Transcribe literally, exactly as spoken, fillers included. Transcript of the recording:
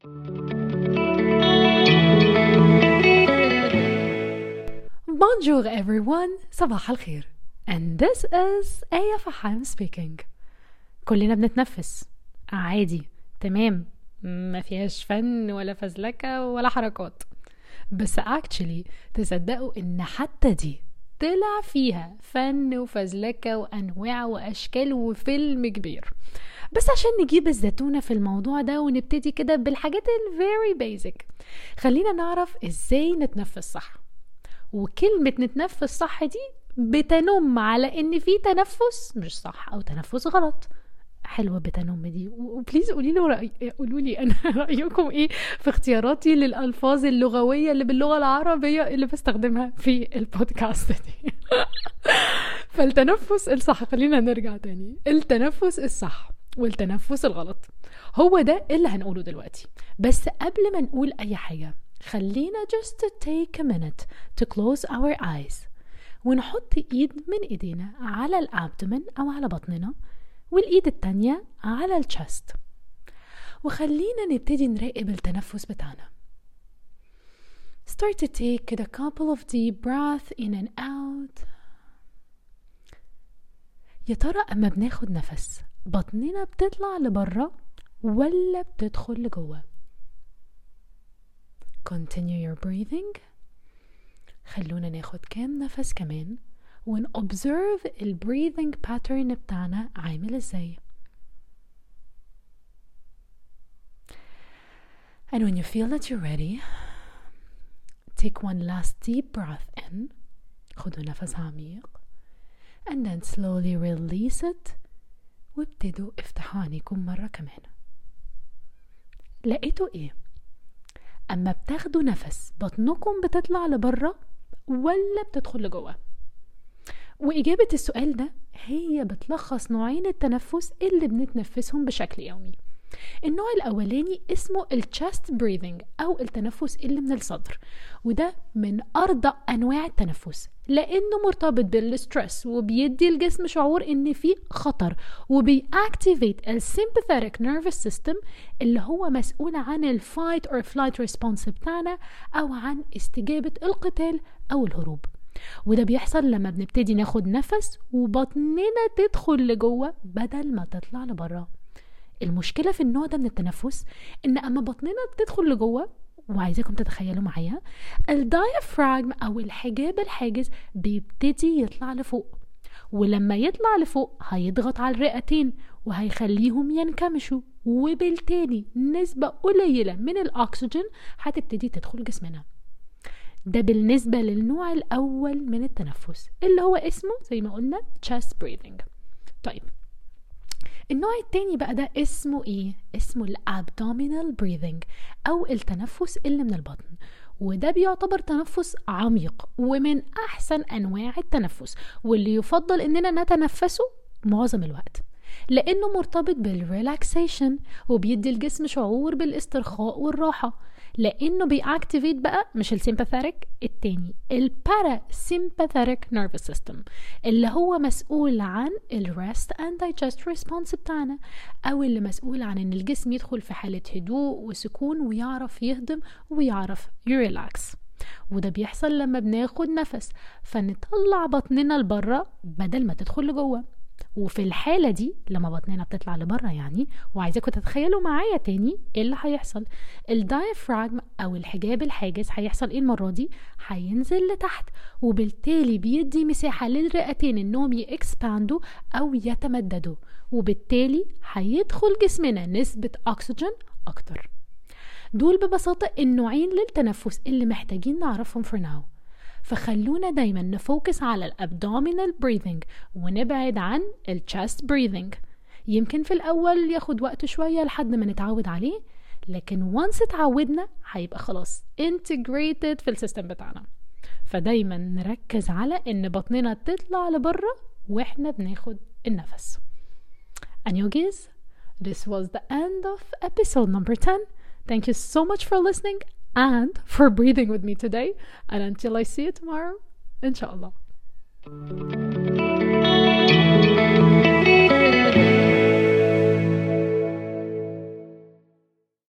Bonjour everyone, صباح الخير. And this is آية فحام speaking. كلنا بنتنفس عادي، تمام، ما فيهاش فن ولا فزلكة ولا حركات. بس actually تصدقوا ان حتى دي طلع فيها فن وفزلكة وانواع واشكال وفيلم كبير. بس عشان نجيب الزتونة في الموضوع ده ونبتدي كده بالحاجات ال very basic، خلينا نعرف ازاي نتنفس صح. وكلمة نتنفس صح دي بتنم على ان في تنفس مش صح او تنفس غلط. حلوة بتنم دي، وبليز قولي له رأي... قولوا لي انا رأيكم ايه في اختياراتي للألفاظ اللغوية اللي باللغة العربية اللي بستخدمها في البودكاست دي. فالتنفس الصح، خلينا نرجع تاني، التنفس الصح والتنفس الغلط هو ده اللي هنقوله دلوقتي. بس قبل ما نقول اي حاجة خلينا just take a minute to close our eyes ونحط ايد من ايدينا على الابدومن او على بطننا، والايد التانية على الشست، وخلينا نبتدي نراقب التنفس بتاعنا. Start to take a couple of deep breaths in and out. يا ترى اما بناخد نفس بطننا بتطلع لبرا ولا بتدخل لجوه؟ Continue your breathing. خلونا ناخد كام نفس كمان ون observe ال breathing pattern بتاعنا عامل ازاي. And when you feel that you're ready, take one last deep breath in. خدوا نفس عميق and then slowly release it. وابتدوا افتحوا عينيكم مرة كمان. لقيتوا ايه؟ اما بتاخدوا نفس بطنكم بتطلع لبرا ولا بتدخل لجوه؟ واجابة السؤال ده هي بتلخص نوعين التنفس اللي بنتنفسهم بشكل يومي. النوع الاولاني اسمه الchest breathing او التنفس اللي من الصدر، وده من ارضى انواع التنفس لانه مرتبط بالستريس وبيدي الجسم شعور ان في خطر، وبيأكتيفيت السيمباثيك نيرفس سيستم اللي هو مسؤول عن الفايت اور فلايت ريسبونس بتاعنا او عن استجابة القتال او الهروب. وده بيحصل لما بنبتدي ناخد نفس وبطننا تدخل لجوه بدل ما تطلع لبرا. المشكلة في النوع ده من التنفس ان اما بطننا بتدخل لجوه، وعايزاكم تتخيلوا معايا، الدايفراجم او الحجاب الحاجز بيبتدي يطلع لفوق، ولما يطلع لفوق هيضغط على الرئتين وهيخليهم ينكمشوا، وبالتالي نسبة قليلة من الاكسجين هتبتدي تدخل جسمنا. ده بالنسبة للنوع الاول من التنفس اللي هو اسمه زي ما قلنا chest breathing. طيب النوع التاني بقى ده اسمه ايه؟ اسمه الابدومينال بريذنج او التنفس اللي من البطن، وده بيعتبر تنفس عميق ومن احسن انواع التنفس، واللي يفضل اننا نتنفسه معظم الوقت لانه مرتبط بالريلاكسيشن وبيدي الجسم شعور بالاسترخاء والراحة، لانه بيأكتيفيت بقى مش السيمباثيك التاني، البارا سيمباثيك نيرفس سيستم اللي هو مسؤول عن الريست اند دايجست ريسبونس بتاعنا، او اللي مسؤول عن ان الجسم يدخل في حالة هدوء وسكون ويعرف يهضم ويعرف يريلاكس. وده بيحصل لما بناخد نفس فنطلع بطننا لبرا بدل ما تدخل لجوه. وفي الحالة دي لما بطننا بتطلع لبرا يعني، وعايزاكم تتخيلوا معايا تاني ايه اللي هيحصل، الدايفراجم او الحجاب الحاجز هيحصل ايه المرة دي؟ هينزل لتحت، وبالتالي بيدي مساحة للرئتين انهم يكسباندوا او يتمددوا، وبالتالي هيدخل جسمنا نسبة اكسجين اكتر. دول ببساطة النوعين للتنفس اللي محتاجين نعرفهم for now. فخلونا دايما نفوكس على الابدومينال بريذنج ونبعد عن الchest بريذنج. يمكن في الاول ياخد وقت شوية لحد ما نتعود عليه، لكن once اتعودنا هيبقى خلاص integrated في السيستم بتاعنا. فدايما نركز على ان بطننا تطلع لبرا واحنا بناخد النفس. And yogis, this was the end of episode number ten. Thank you so much for listening and for breathing with me today. And until I see you tomorrow, inshallah.